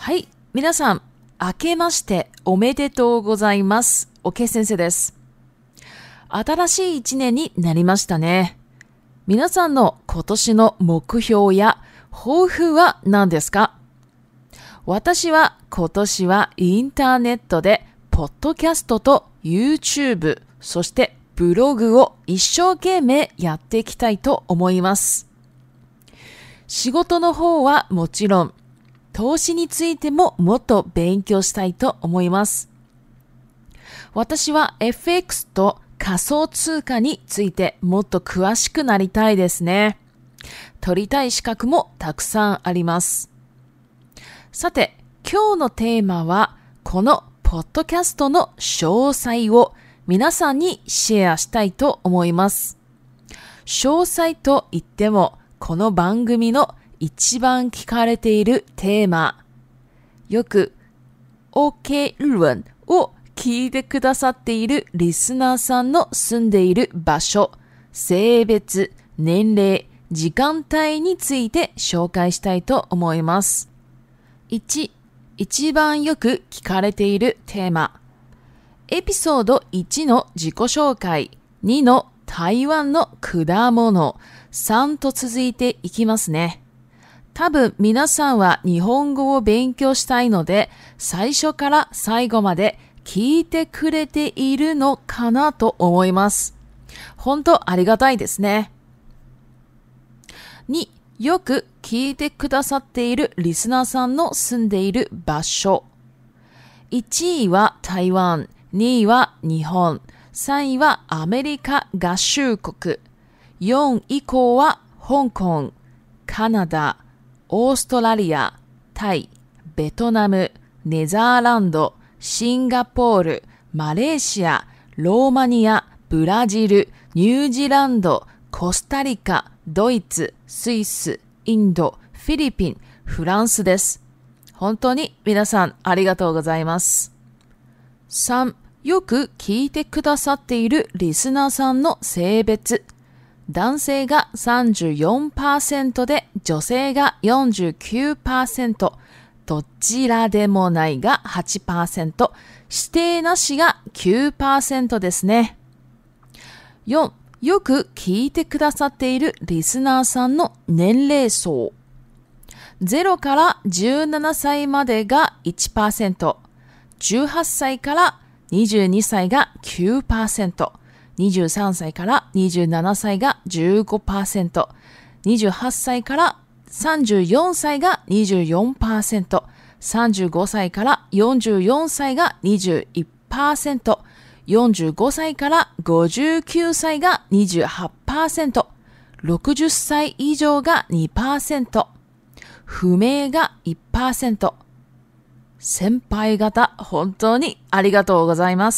はい、皆さん、明けましておめでとうございます。OK 先生です。新しい一年になりましたね。皆さんの今年の目標や抱負は何ですか？私は今年はインターネットでポッドキャストと YouTube、そしてブログを一生懸命やっていきたいと思います。仕事の方はもちろん、投資についてももっと勉強したいと思います。私は FX と仮想通貨についてもっと詳しくなりたいですね。取りたい資格もたくさんあります。さて、今日のテーマはこのポッドキャストの詳細を皆さんにシェアしたいと思います。詳細といってもこの番組の一番聞かれているテーマ、よく OK 日文を聞いてくださっているリスナーさんの住んでいる場所、性別、年齢、時間帯について紹介したいと思います。1、一番よく聞かれているテーマ。エピソード1の自己紹介、2の台湾の果物、3と続いていきますね。多分皆さんは日本語を勉強したいので、最初から最後まで聞いてくれているのかなと思います。本当ありがたいですね。2、よく聞いてくださっているリスナーさんの住んでいる場所。1位は台湾、2位は日本、3位はアメリカ合衆国、4以降は香港、カナダ、オーストラリア、タイ、ベトナム、ネザーランド、シンガポール、マレーシア、ローマニア、ブラジル、ニュージーランド、コスタリカ、ドイツ、スイス、インド、フィリピン、フランスです。本当に皆さんありがとうございます。3、よく聞いてくださっているリスナーさんの性別。男性が 34% で女性が 49%、どちらでもないが 8%、指定なしが 9% ですね。4、よく聞いてくださっているリスナーさんの年齢層。0から17歳までが 1%、18歳から22歳が 9%、23歳から27歳が 15%、28歳から34歳が 24%、35歳から44歳が 21%、45歳から59歳が 28%、60歳以上が 2%、不明が 1%。先輩方、本当にありがとうございます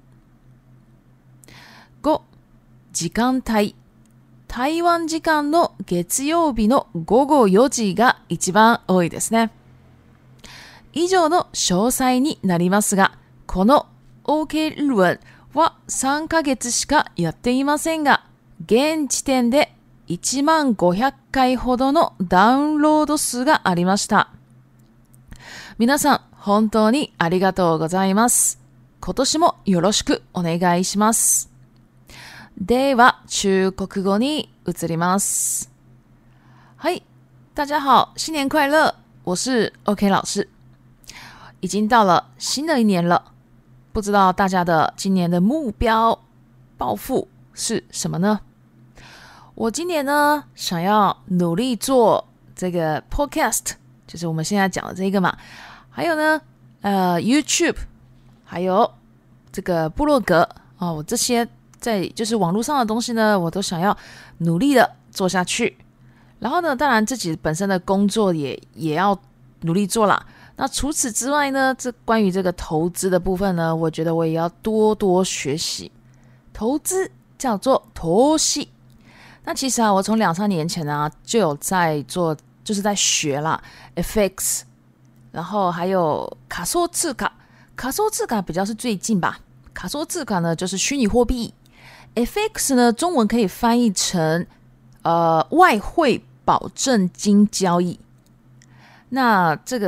。5、時間帯。台湾時間の月曜日の午後4時が一番多いですね。以上の詳細になりますが、この OK 日文は3ヶ月しかやっていませんが、現時点で1500回ほどのダウンロード数がありました。皆さん、本当にありがとうございます。今年もよろしくお願いします。では、中国語に移ります。はい、大家好，新年快乐！我是 OK 老师。已经到了新的一年了，不知道大家的今年的目标、抱负是什么呢？我今年呢，想要努力做这个 podcast， 就是我们现在讲的这个嘛。还有呢，YouTube， 还有这个部落格我这些在就是网络上的东西呢，我都想要努力的做下去。然后呢，当然自己本身的工作也要努力做啦。那除此之外呢，这关于这个投资的部分呢，我觉得我也要多多学习。投资叫做投資。那其实我从2-3年前就有在做，就是在学啦 FX。然后还有仮想通貨，仮想通貨比较是最近吧。仮想通貨呢就是虚拟货币 ，FX 呢中文可以翻译成外汇保证金交易。那这个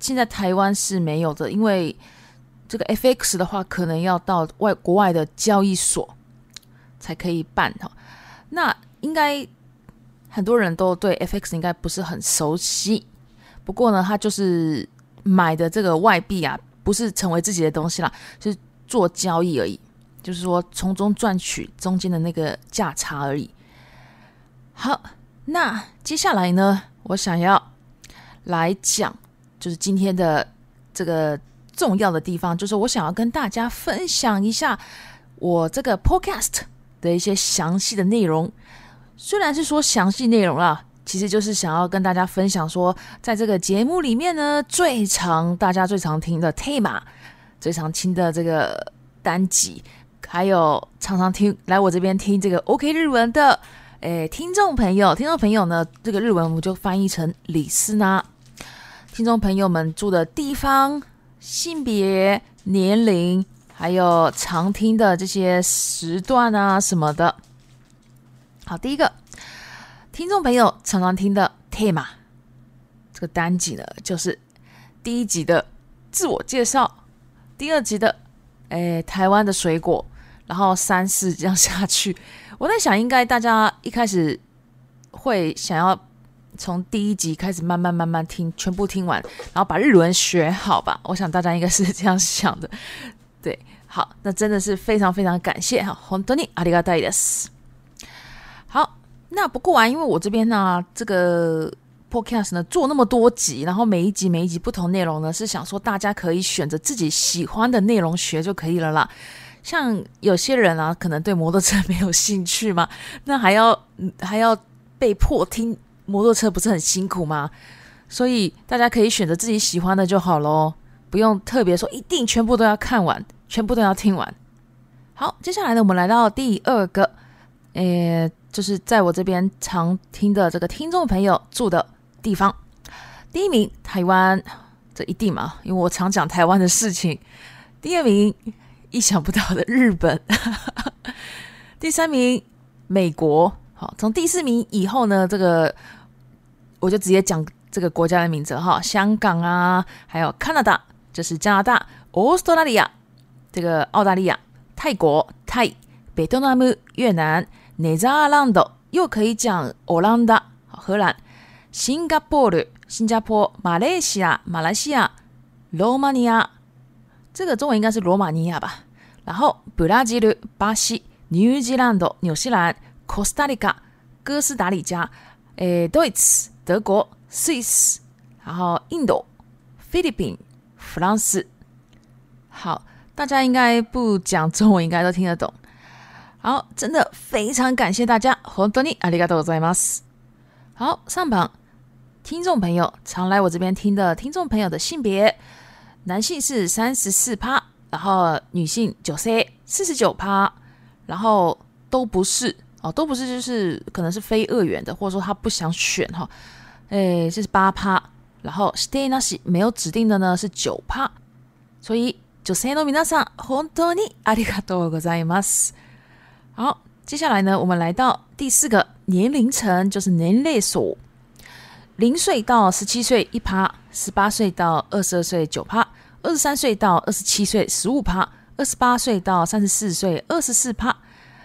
现在台湾是没有的，因为这个 FX 的话，可能要到国外的交易所才可以办哈。那应该很多人都对 FX 应该不是很熟悉，不过呢，它就是买的这个外币啊，不是成为自己的东西啦，是做交易而已，就是说从中赚取中间的那个价差而已。好，那接下来呢，我想要来讲，就是今天的这个重要的地方，就是我想要跟大家分享一下我这个 podcast 的一些详细的内容。虽然是说详细内容啦，其实就是想要跟大家分享说，在这个节目里面呢，大家最常听的 tema， 最常听的这个单集，还有常常来我这边听这个 OK 日文的听众朋友呢，这个日文我就翻译成李斯娜。听众朋友们住的地方、性别、年龄，还有常听的这些时段啊什么的。好，第一个听众朋友常常听的 tema 这个单集呢，就是第一集的自我介绍，第二集的台湾的水果，然后3、4这样下去。我在想，应该大家一开始会想要从第一集开始慢慢听，全部听完，然后把日文学好吧。我想大家应该是这样想的。对，好，那真的是非常非常感谢哈，本当にありがたいです。好，那不过因为我这边呢，这个 podcast 呢做那么多集，然后每一集不同内容呢，是想说大家可以选择自己喜欢的内容学就可以了啦。像有些人啊，可能对摩托车没有兴趣嘛，那还要被迫听摩托车，不是很辛苦吗？所以大家可以选择自己喜欢的就好咯，不用特别说一定全部都要看完，全部都要听完。好，接下来呢，我们来到第二个，就是在我这边常听的这个听众朋友住的地方。第一名台湾，这一定嘛，因为我常讲台湾的事情。第二名意想不到的日本第3名美国。好，从第4名以后呢，这个我就直接讲这个国家的名字哈，香港啊，还有 Canada 就是加拿大， Australia 这个澳大利亚，泰国泰，ベトナム越南，ネザーランド又可以讲オランダ荷兰，シンガポール新加坡，马来西亚马来西亚，罗马尼亚这个中文应该是罗马尼亚吧，然后ブラジル巴西，ニュージーランド纽西兰，Costa Rica哥斯达黎加，Deutsch德国，Swiss 然后印度，菲律宾弗朗斯。好，大家应该不讲中文应该都听得懂。好，真的非常感谢大家，本当にありがとうございます。好，上榜听众朋友常来我这边听的听众朋友的性别，男性是 34%， 然后女性女性 49%， 然后都不是都不是，就是可能是非二元的，或者说他不想选哈，是 8%， 然后指定なし没有指定的呢是 9%， 所以女性の皆さん本当にありがとうございます。好，接下来呢，我们来到第4个年龄层，就是年齢層。0岁到17岁 1%， 18岁到22岁 9%， 23岁到27岁 15%， 28岁到34岁 24%，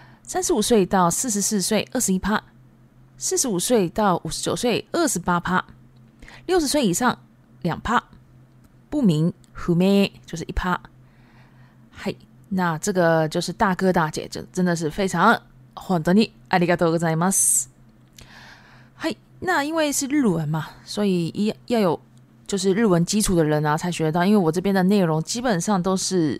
35岁到44岁 21%， 45岁到59岁 28%， 60岁以上 2%， 不明不明就是 1%。 はい，那这个就是大哥大姐，就真的是非常本当にありがとうございます。はい，那因为是日文嘛，所以要有就是日文基础的人啊才学得到，因为我这边的内容基本上都是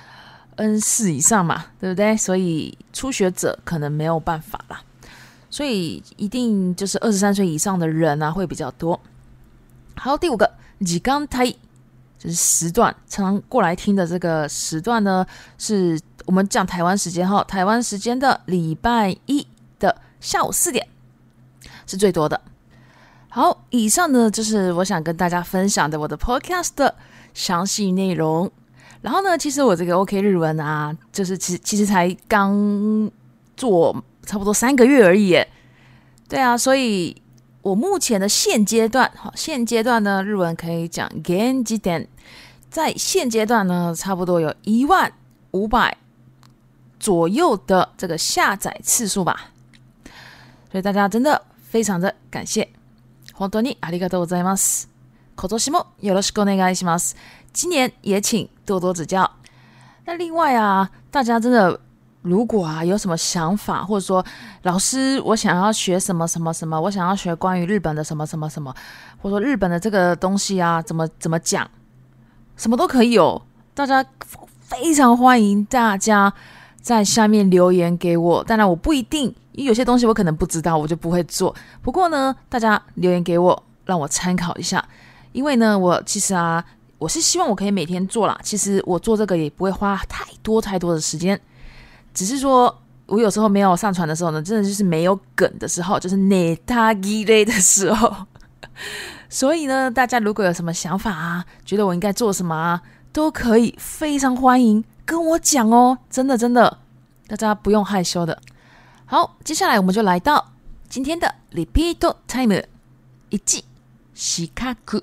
N4 以上嘛，对不对？所以初学者可能没有办法啦，所以一定就是23岁以上的人啊会比较多。好，第5个時間帯，就是时段，常常过来听的这个时段呢，是我们讲台湾时间哈，台湾时间的礼拜一的下午4点是最多的。好，以上呢就是我想跟大家分享的我的 podcast 的详细内容。然后呢，其实我这个 OK 日文啊，就是其实才刚做差不多3个月而已耶。对啊，所以我目前的现阶段呢，日文可以讲現時点，在现阶段呢，差不多有15000左右的这个下载次数吧。所以大家真的非常的感谢，本当にありがとうございます。今年もよろしくお願いします。今年也请多多指教。那另外啊，大家真的如果有什么想法，或者说老师我想要学什么什么什么，我想要学关于日本的什么什么什么，或者说日本的这个东西啊，怎么讲，什么都可以哦。大家非常欢迎大家在下面留言给我，当然我不一定，因为有些东西我可能不知道，我就不会做。不过呢，大家留言给我，让我参考一下。因为呢，我其实我是希望我可以每天做啦。其实我做这个也不会花太多的时间，只是说我有时候没有上传的时候呢，真的就是没有梗的时候，就是ネタ切れ的时候。所以呢，大家如果有什么想法觉得我应该做什么都可以，非常欢迎跟我讲哦，真的，大家不用害羞的。好，接下来我们就来到今天的 Repeat Time 1、視覚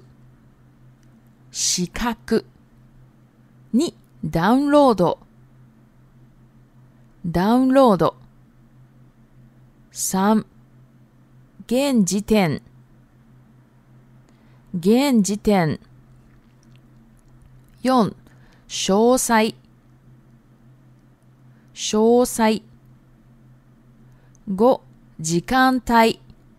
2、ダウンロード3、現時点4、詳細5、時間帯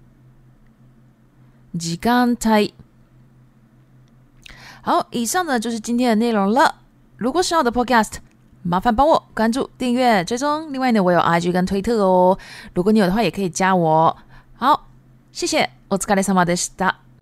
好，以上呢就是今天的内容了。如果喜欢我的 podcast， 麻烦帮我关注、订阅、追踪。另外呢，我有 IG 跟推特哦，如果你有的话也可以加我。好，谢谢，お疲れ様でした。